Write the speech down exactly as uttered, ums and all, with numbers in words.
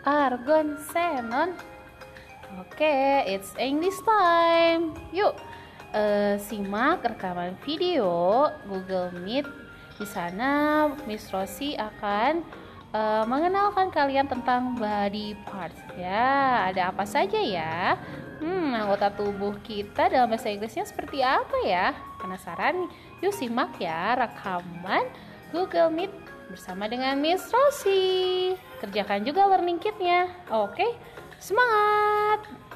argon, xenon. Oke, it's English time. Yuk, uh, simak rekaman video Google Meet. Di sana Miss Rosie akan uh, mengenalkan kalian tentang body parts. Ya, ada apa saja ya? Hmm, anggota tubuh kita dalam bahasa Inggrisnya seperti apa ya? Penasaran? Yuk simak ya rekaman Google Meet bersama dengan Miss Rosie. Kerjakan juga learning kitnya. Oke, semangat!